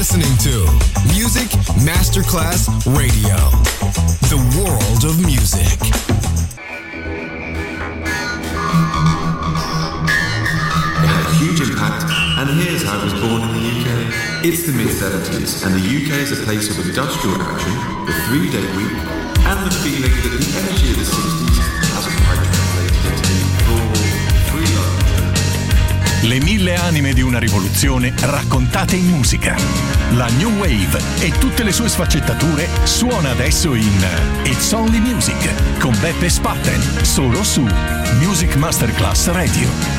listening to Music Masterclass Radio, the world of music. It had a huge impact, and here's how it was born in the UK. It's the mid-70s, and the UK is a place of industrial action, the 3-day week, and the feeling that the energy of the 60s hasn't quite translated into full freedom. Le 1000 anime di una rivoluzione raccontate in musica. La New Wave e tutte le sue sfaccettature suona adesso in It's Only Music con Beppe Spatten, solo su Music Masterclass Radio.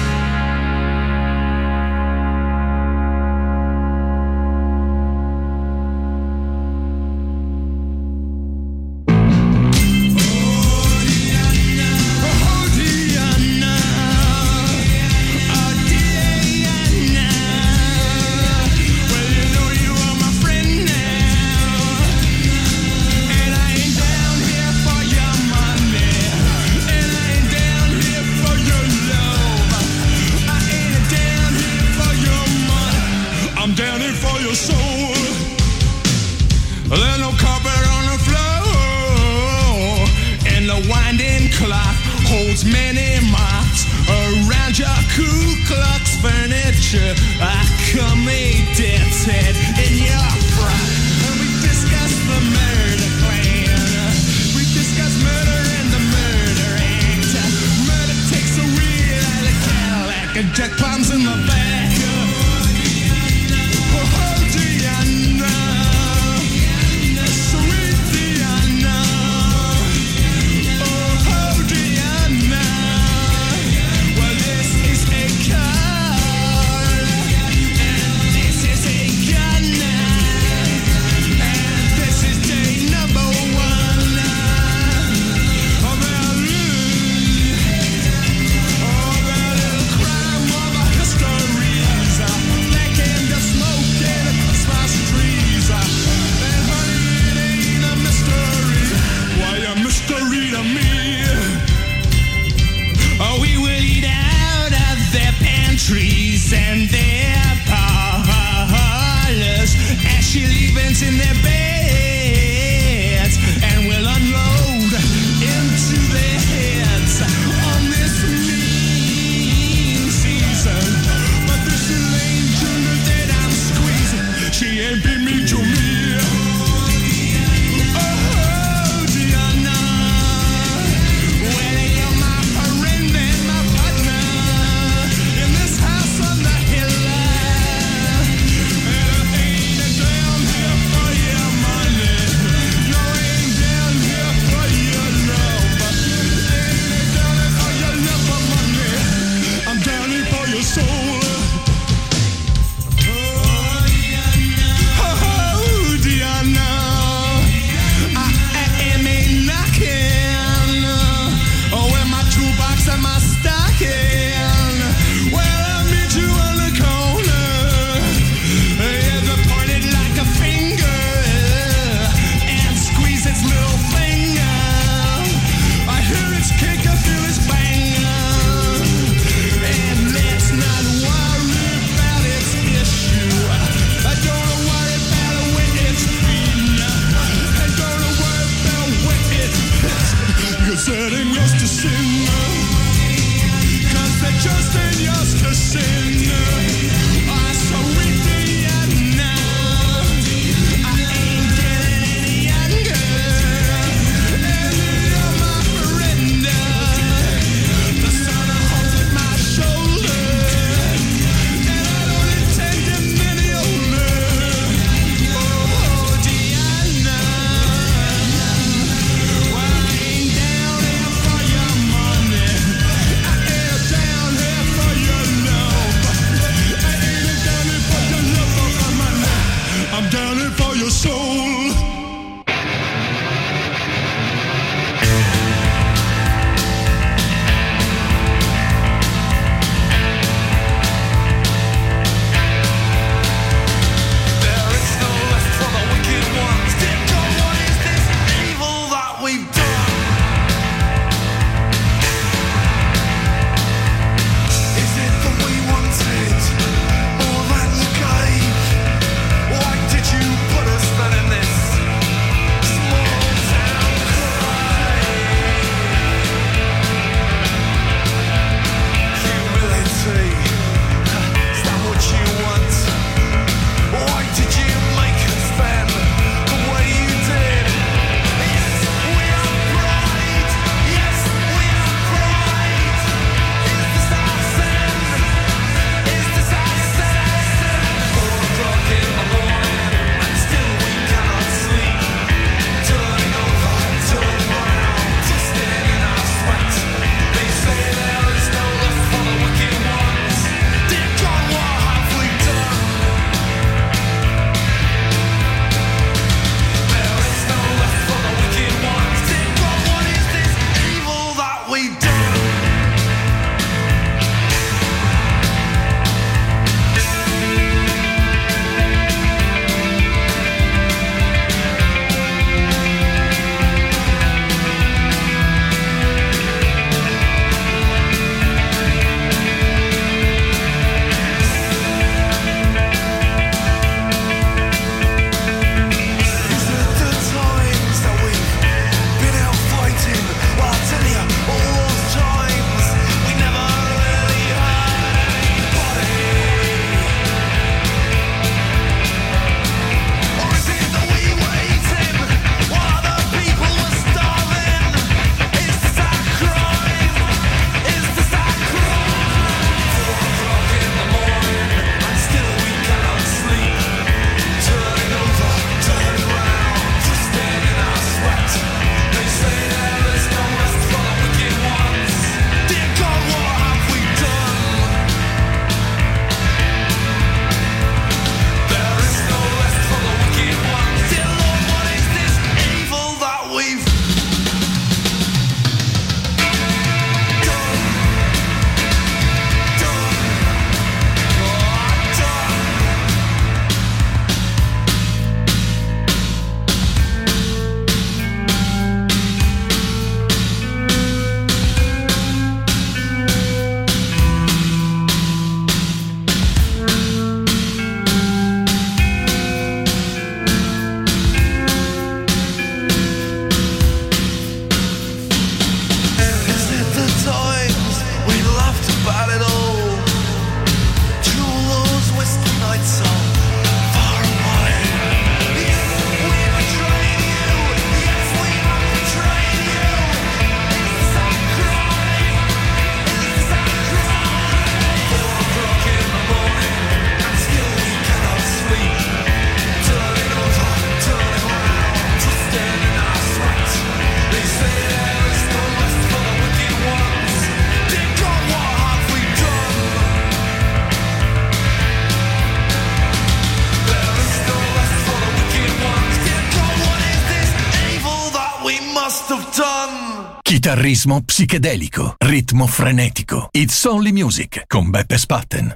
must have done. Chitarrismo psichedelico, ritmo frenetico. It's Only Music con Beppe Spatten.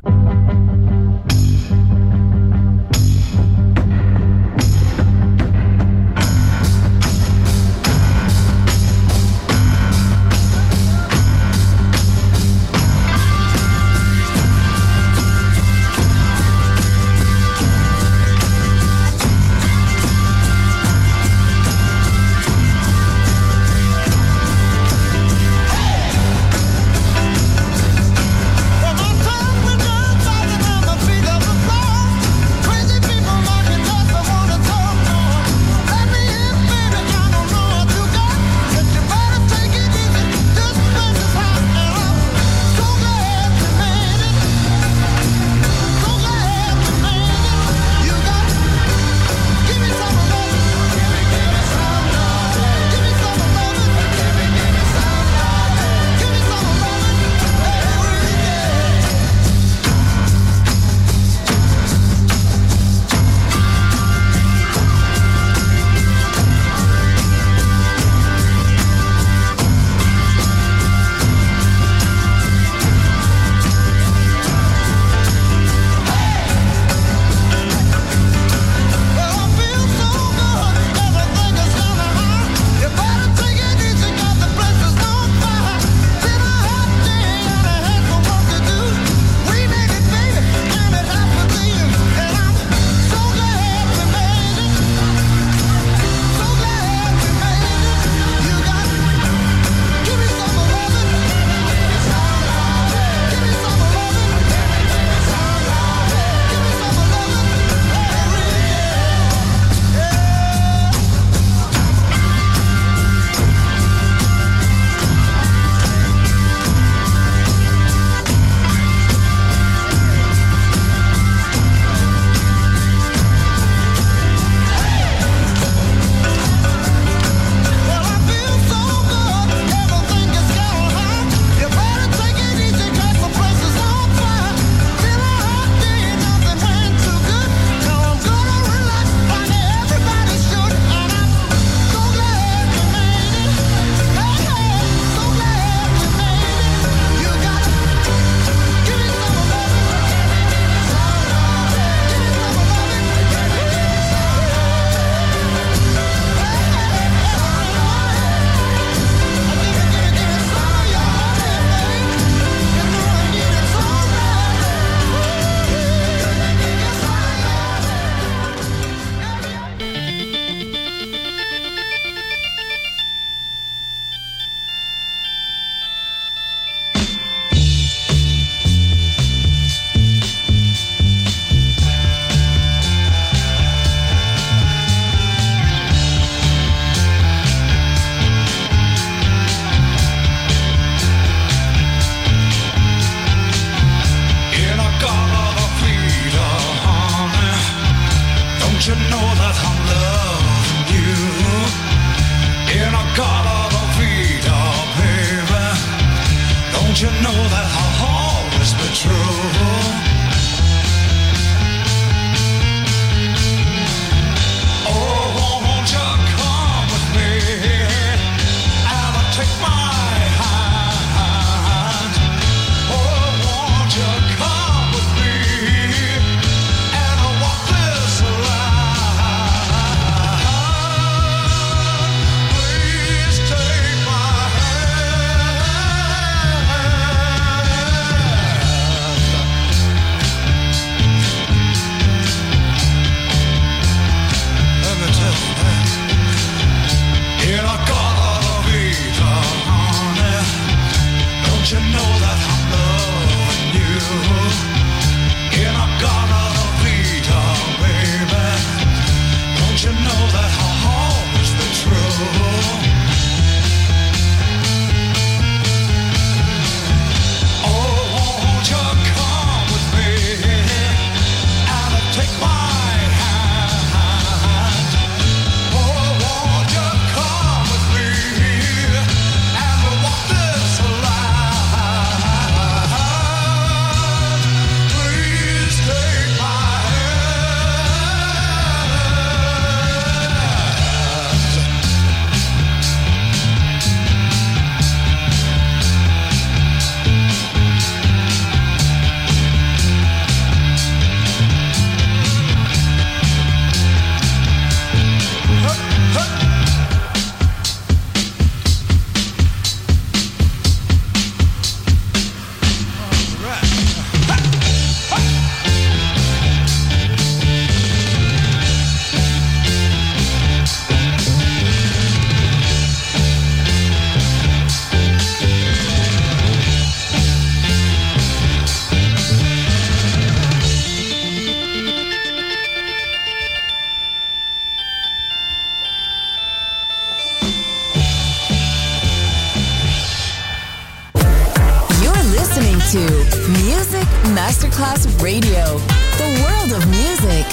Music Masterclass Radio. The world of music.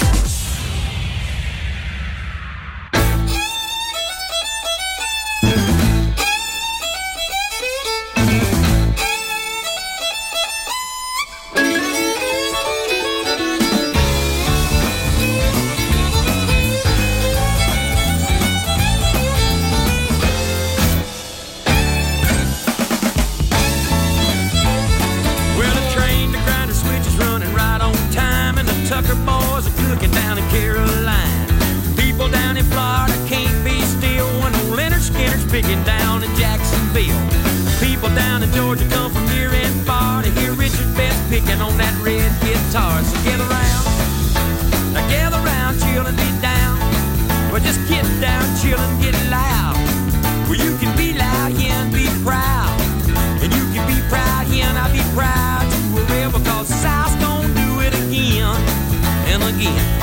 Picking down in Jacksonville. People down in Georgia come from near and far to hear Richard Best picking on that red guitar. So gather round, chill and get down. Well, just get down, chill and get loud. Well, you can be loud, yeah, and be proud. And you can be proud, yeah, and I'll be proud to a real, because South's gonna do it again and again.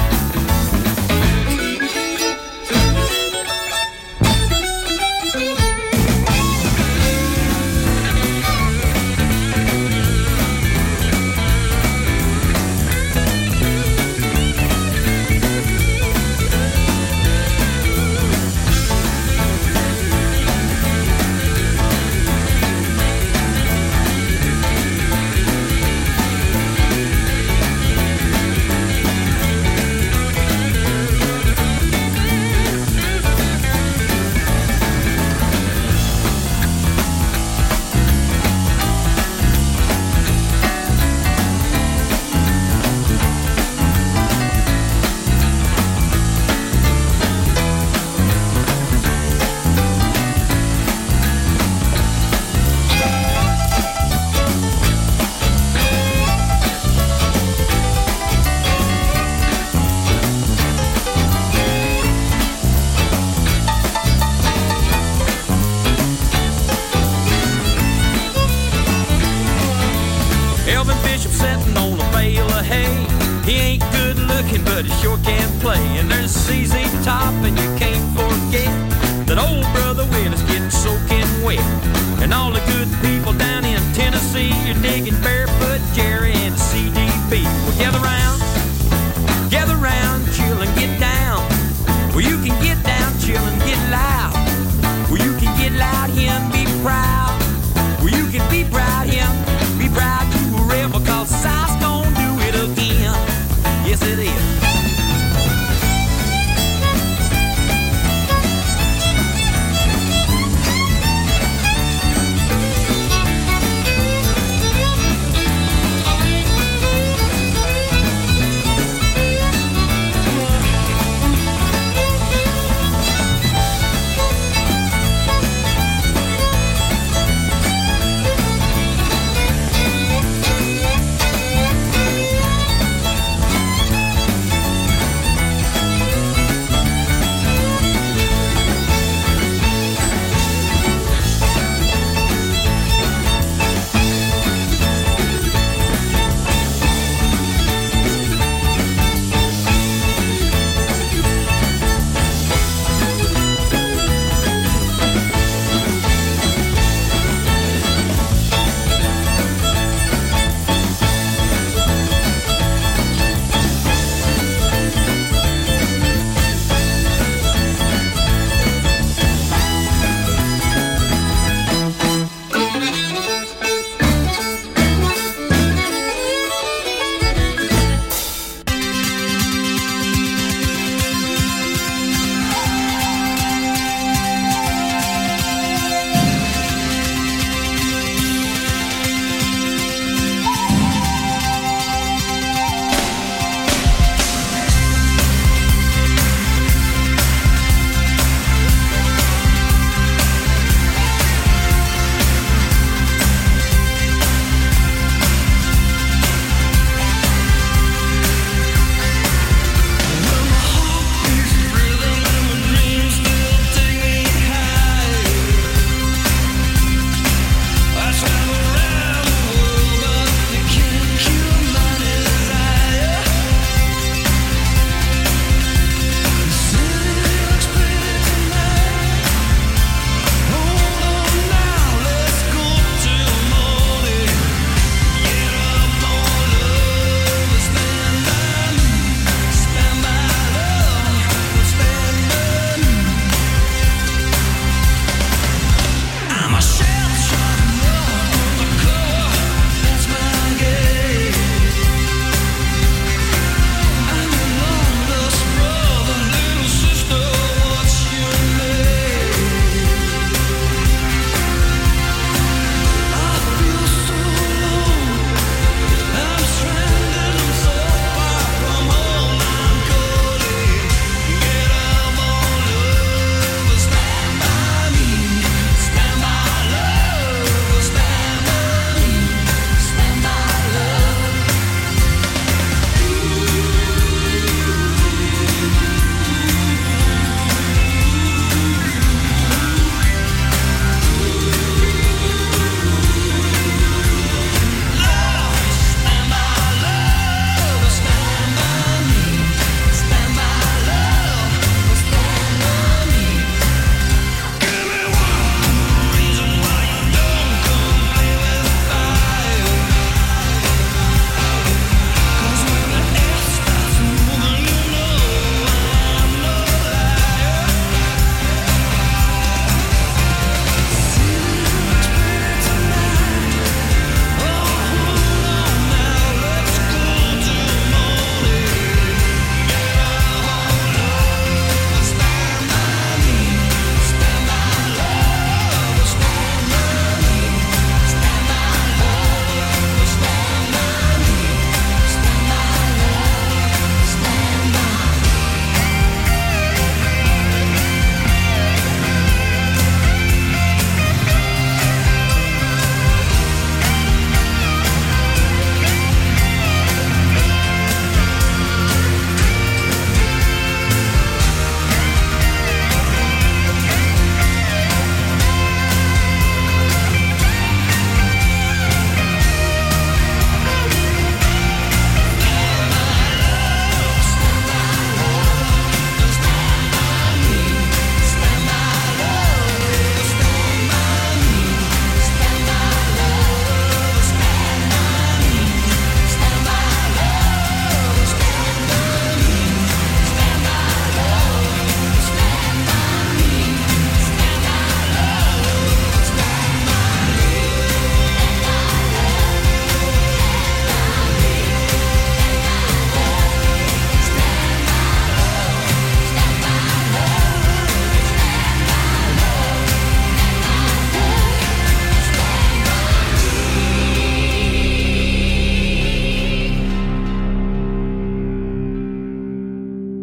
But he sure can play. And there's CZ Top, and you can't forget that old brother Will is getting soaking wet. And all the good people down in Tennessee, you're digging Barefoot Jerry and CDB. Well, gather round, chill and get down. Well, you can get down, chill and get loud. Well, you can get loud here and be proud. Well, you can be proud here, be proud to a rebel, because South's gonna do it again. Yes, it is.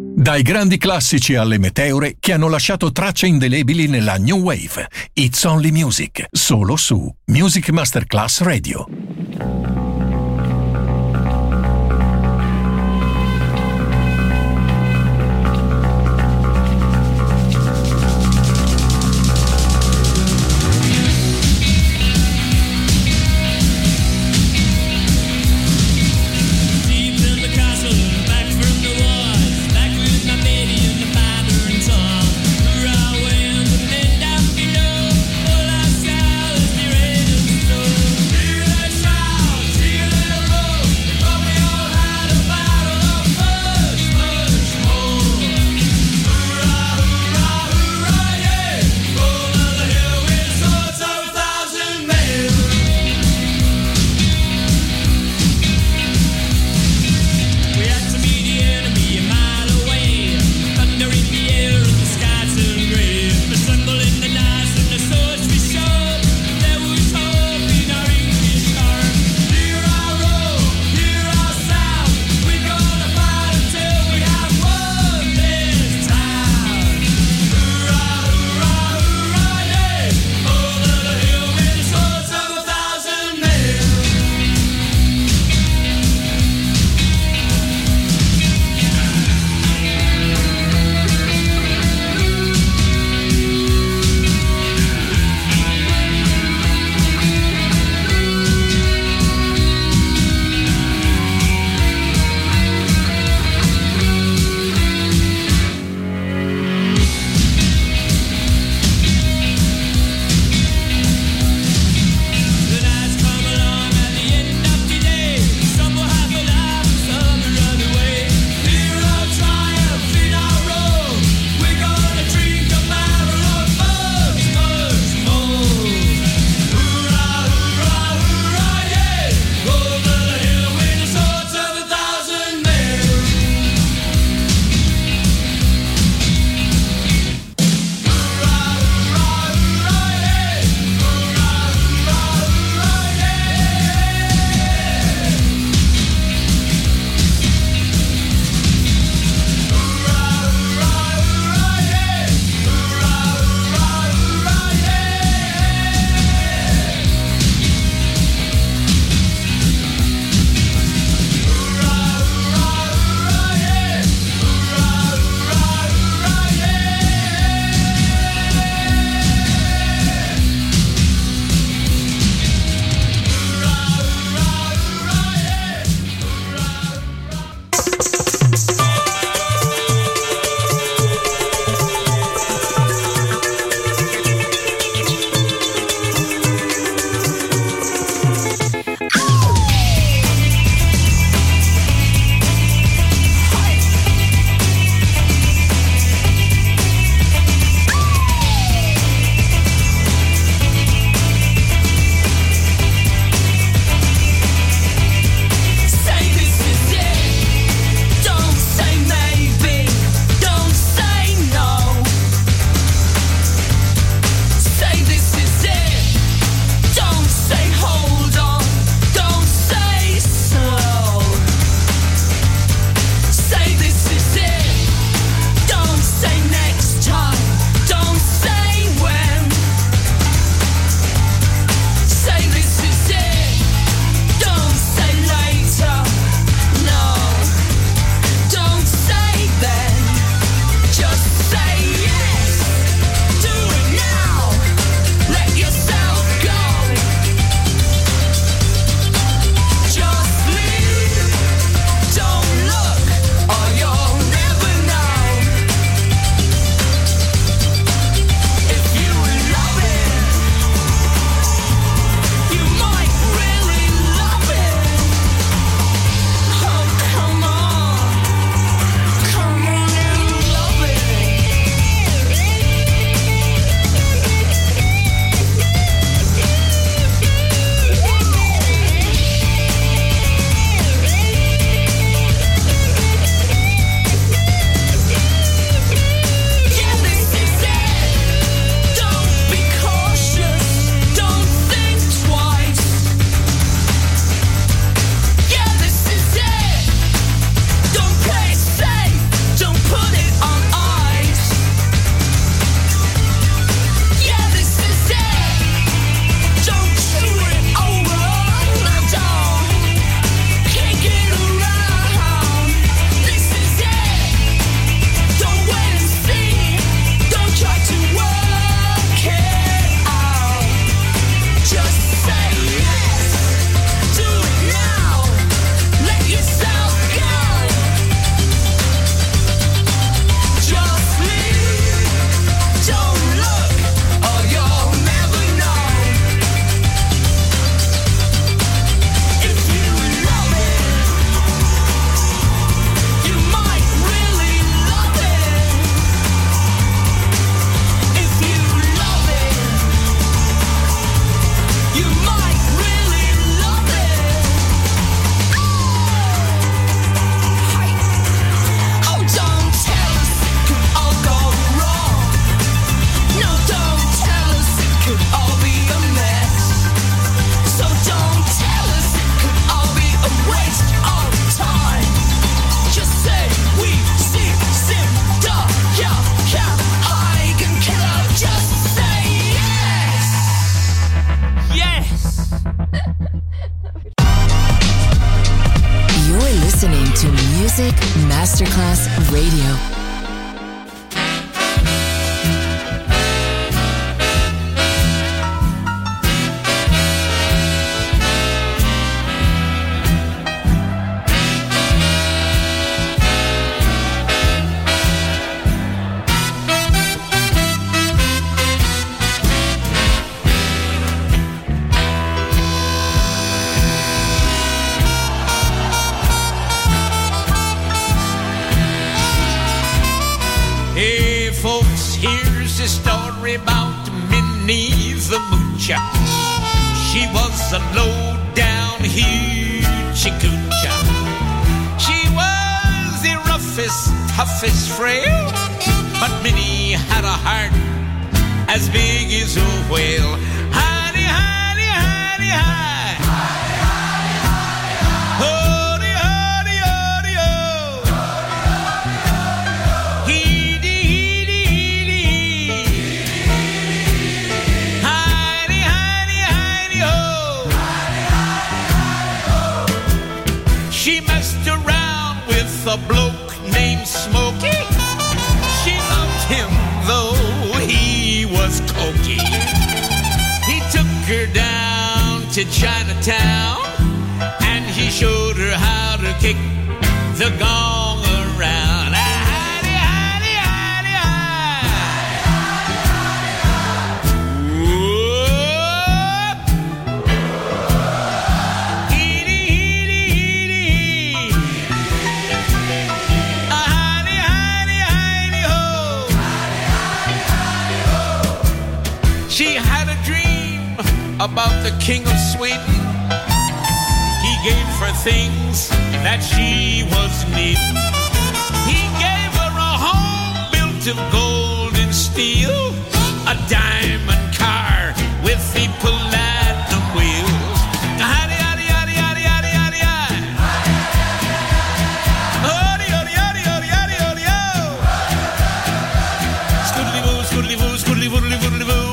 Dai grandi classici alle meteore che hanno lasciato tracce indelebili nella New Wave. It's Only Music, solo su Music Masterclass Radio. Let's Music Masterclass Radio. About Minnie the Moocher. She was a low-down hoochie coocher. She was the roughest, toughest frail, but Minnie had a heart as big as a whale. Hidey, hidey, hidey, hidey. A bloke named Smokey. She loved him though he was cokey. He took her down to Chinatown and he showed her how to kick the gong around. Hidey, hidey, hidey, She had a dream about the King of Sweden. He gave her things that she was needing. He gave her a home built of gold and steel, a diamond car with the platinum wheels. Howdy, howdy, howdy, howdy, howdy, howdy, howdy. Howdy, howdy, howdy, howdy, howdy, howdy, ho. Scoodly-boo, scoodly-boo, scoodly-woodly, woodly-boo.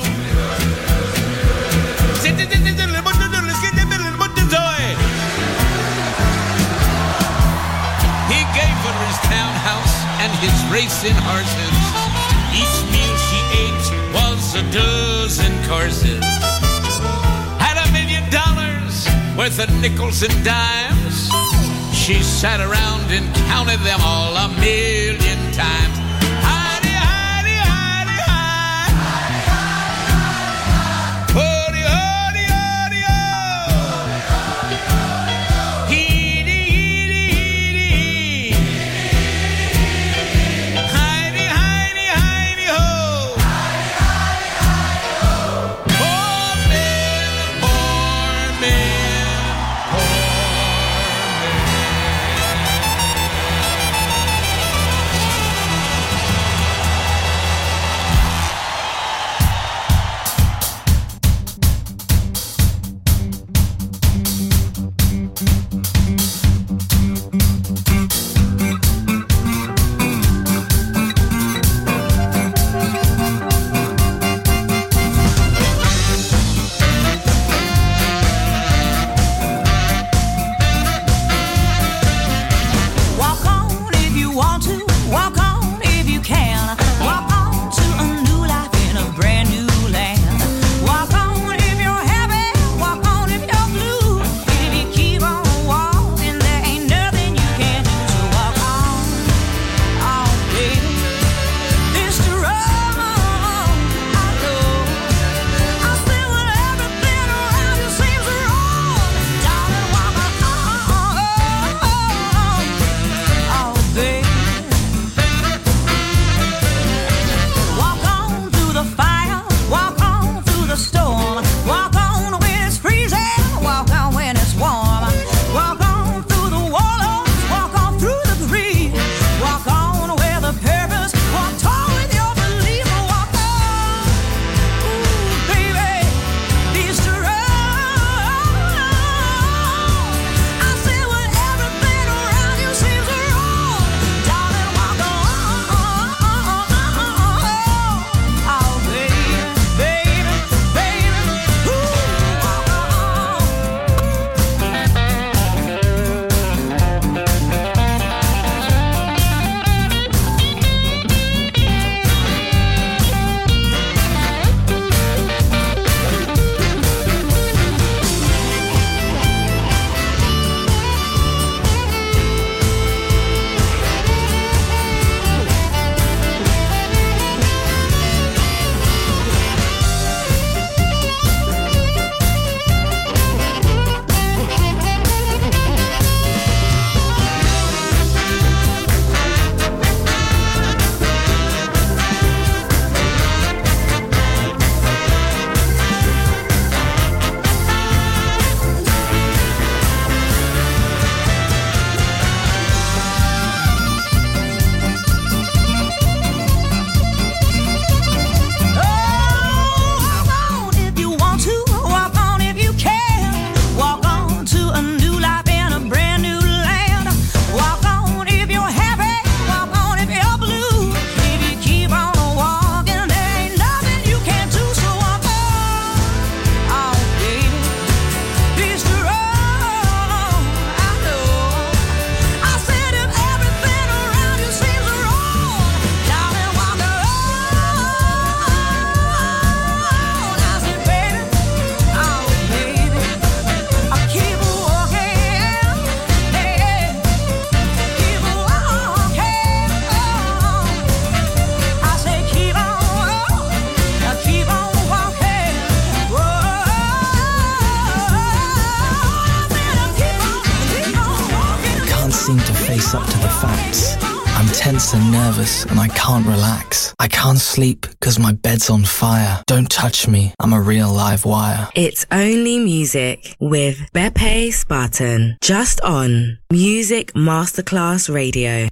And his racing horses. Each meal she ate was a dozen courses. Had $1 million worth of nickels and dimes. She sat around and counted them all 1,000,000 times. Hidey, hidey, hidey, hidey. Hody, hody, hody, ho. Heedy, heedy, heedy. so nervous and I can't relax. I can't sleep because my bed's on fire. Don't touch me, I'm a real live wire. It's Only Music with Beppe Spartan. Just on Music Masterclass Radio.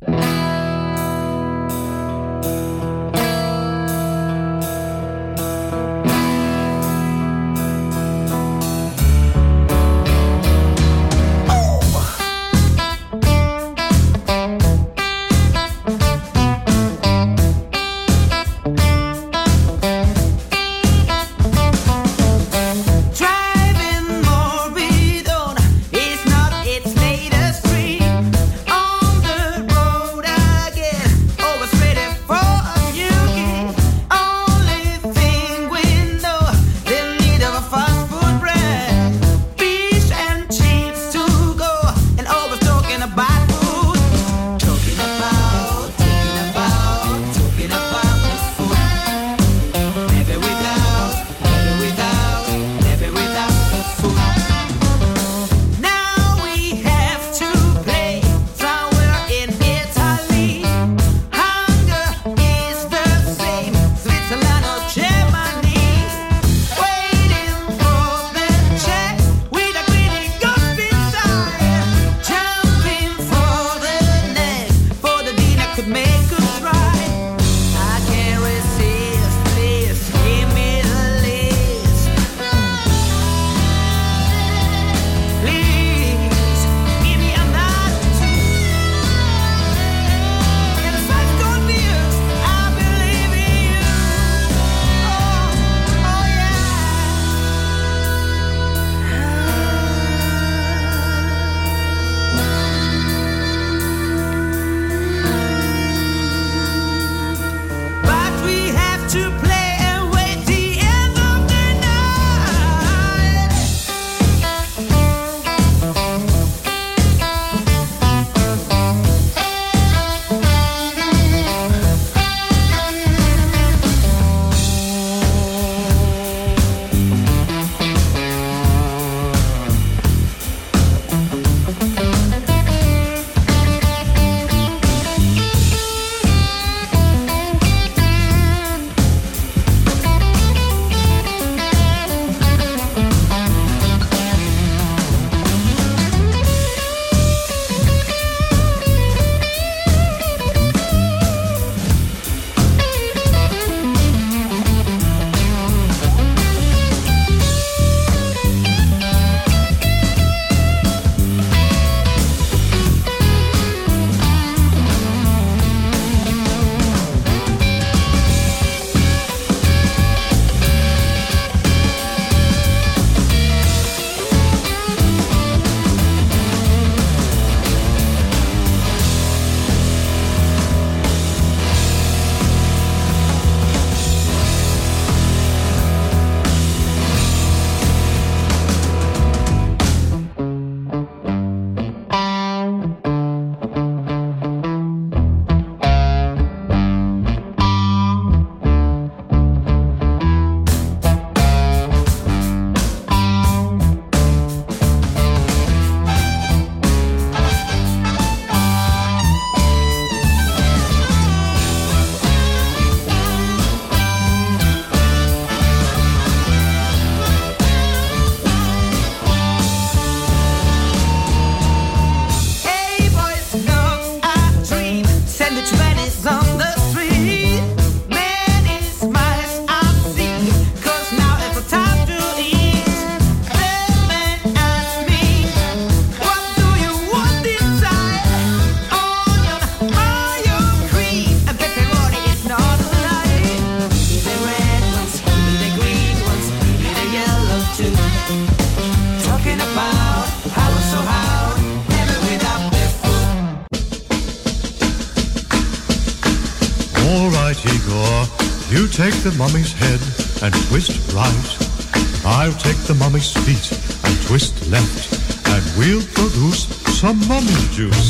You take the mummy's head and twist right. I'll take the mummy's feet and twist left, and we'll produce some mummy juice.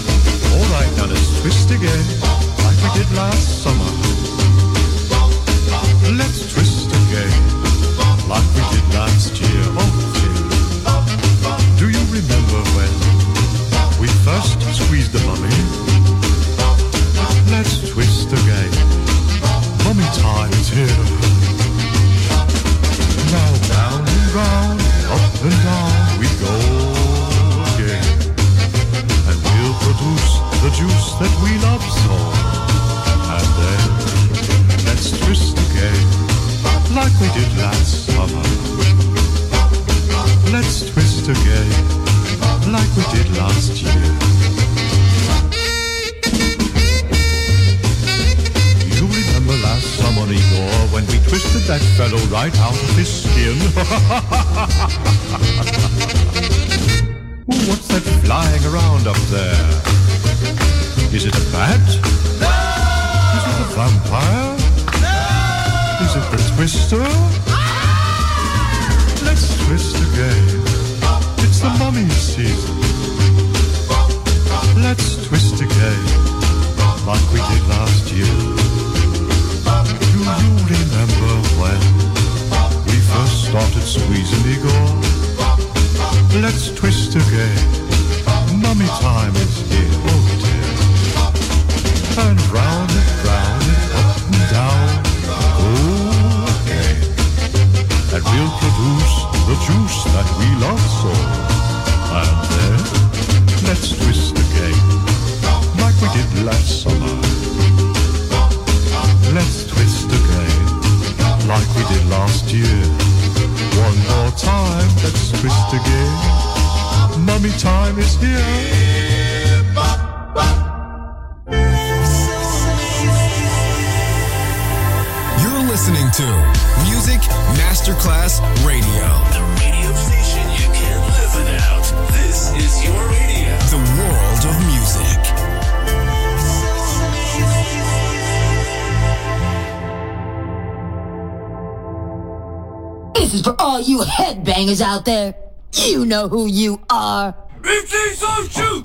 All right, now let's twist again, like we did last summer. Let's twist again, like we did last year. Oh, dear. Do you remember when we first squeezed the mummy? Let's we did last summer. Let's twist again, like we did last year. You remember last summer, Igor, when we twisted that fellow right out of his skin? Ooh, what's that flying around up there? Is it a bat? No! Is it a vampire? No! Is it the twister? Let's twist again. It's the mummy season. Let's twist again, like we did last year. Do you remember when we first started squeezing Igor? Let's twist again. Mummy time is here, oh dear. And round and up and down, oh again. And we'll produce the juice that we love so. And then, let's twist again, like we did last summer. Let's twist again, like we did last year. One more time, let's twist again. Mummy time is here. You're listening to Music Masterclass Radio. The radio station you can't live without. This is your radio. The world of music. This is for all you headbangers out there. You know who you are. BT So Shoot!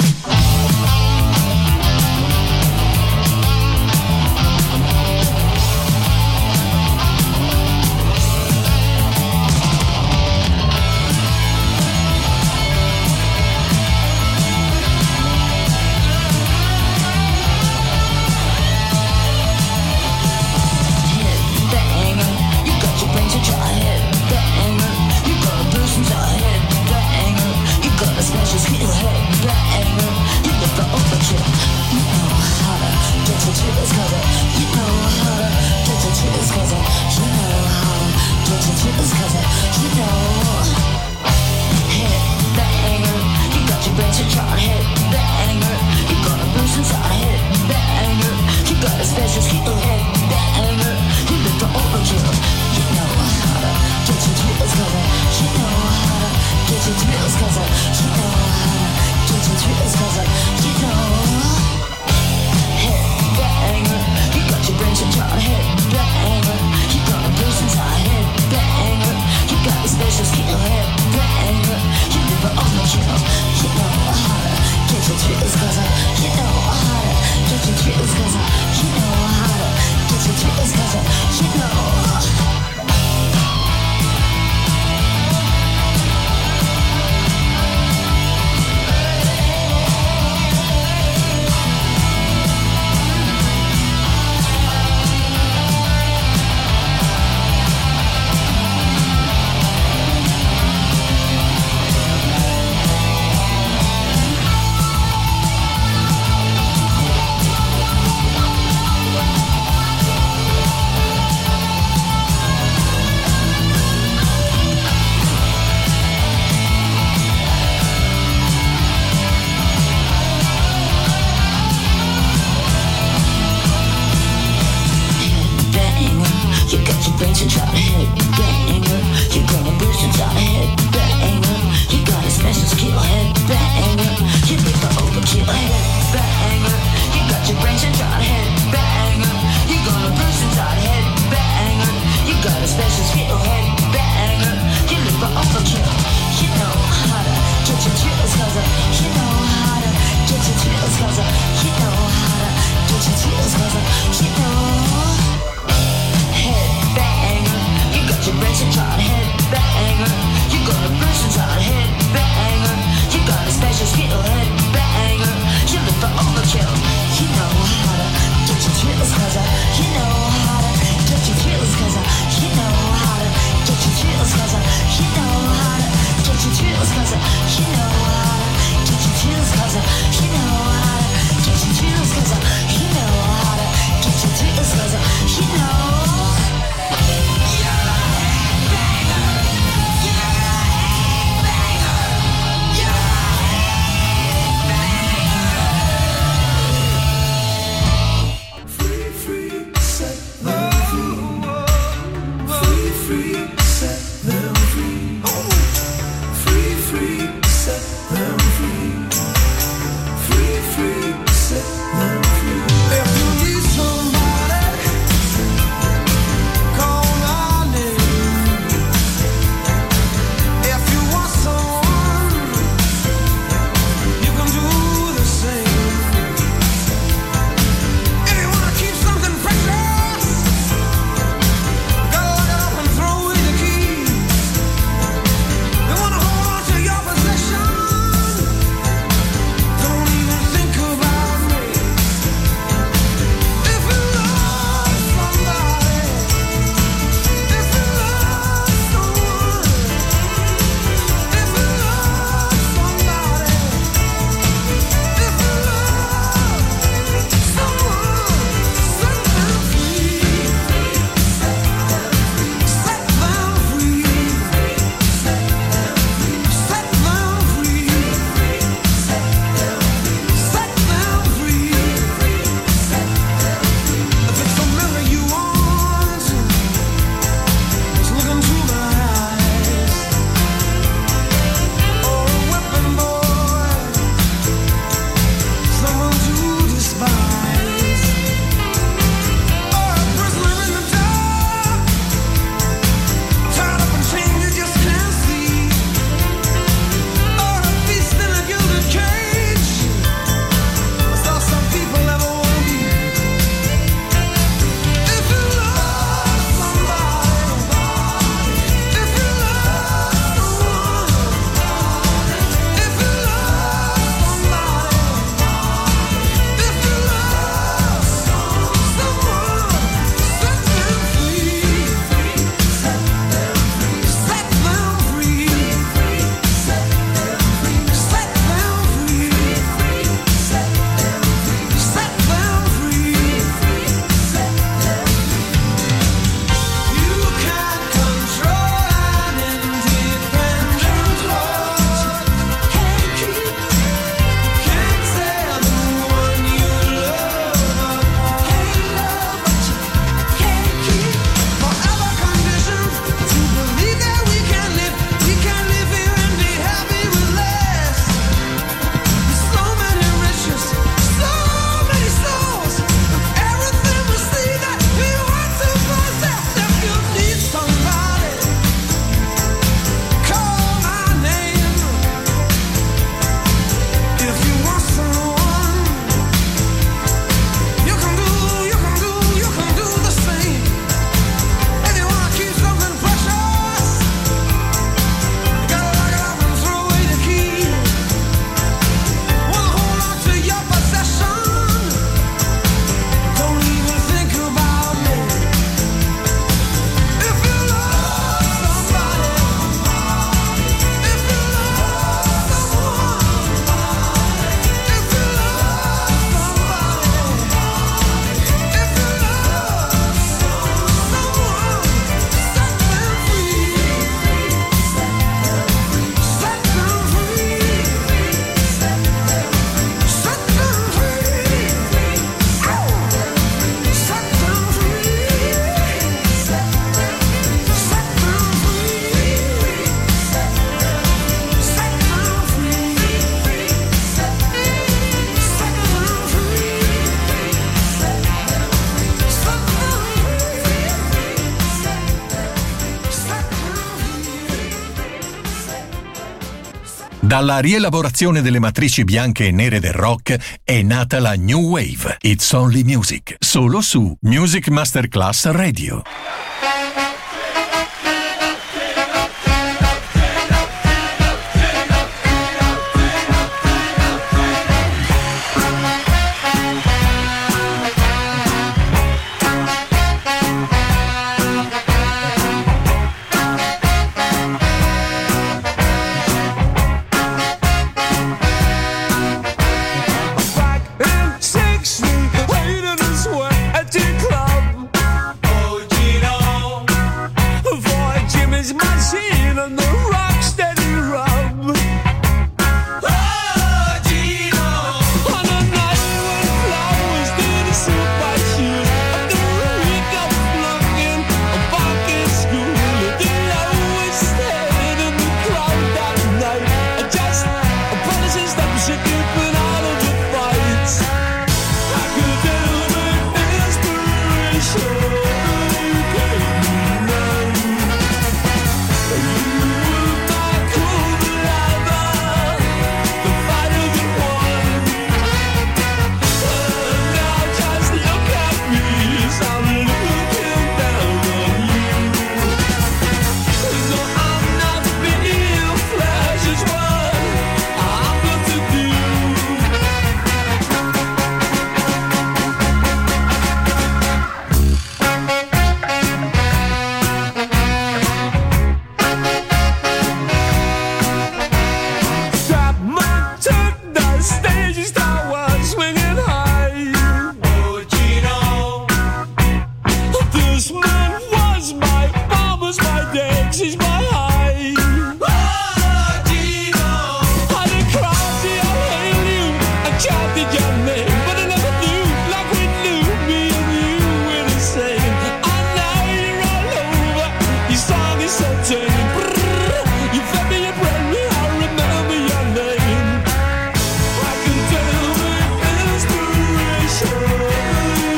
Dalla rielaborazione delle matrici bianche e nere del rock è nata la New Wave. It's Only Music, solo su Music Masterclass Radio.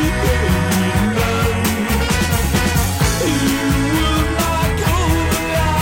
Yeah.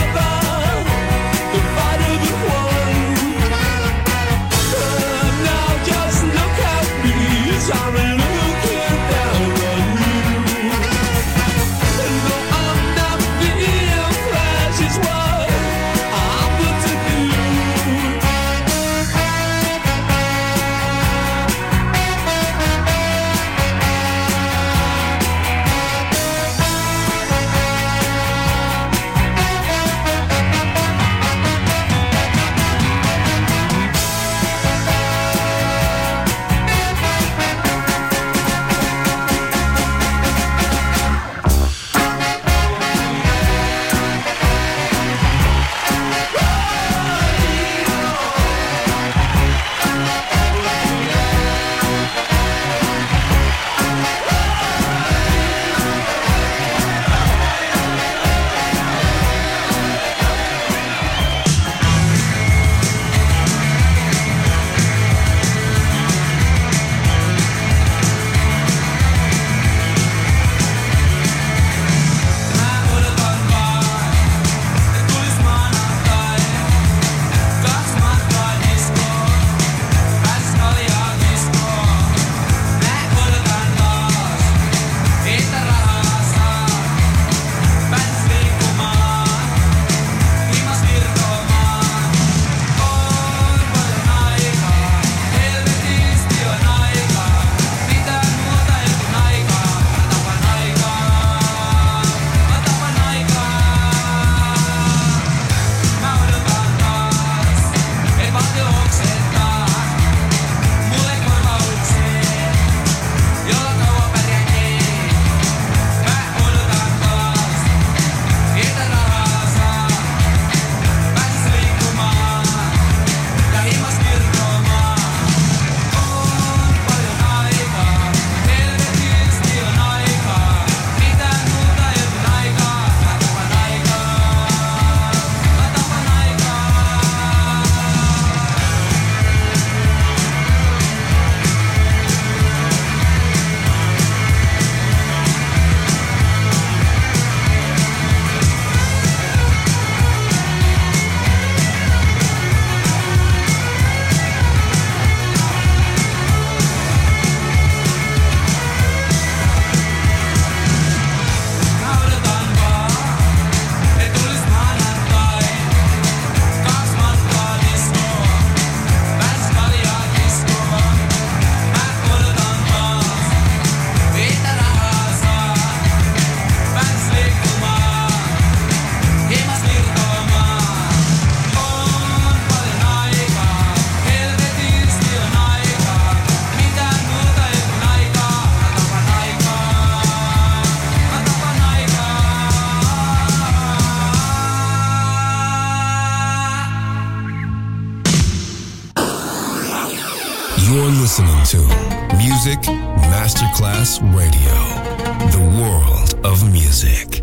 listening to Music Masterclass Radio, the world of music.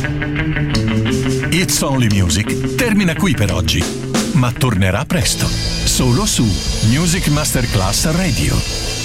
It's Only Music termina qui per oggi, ma tornerà presto, solo su Music Masterclass Radio.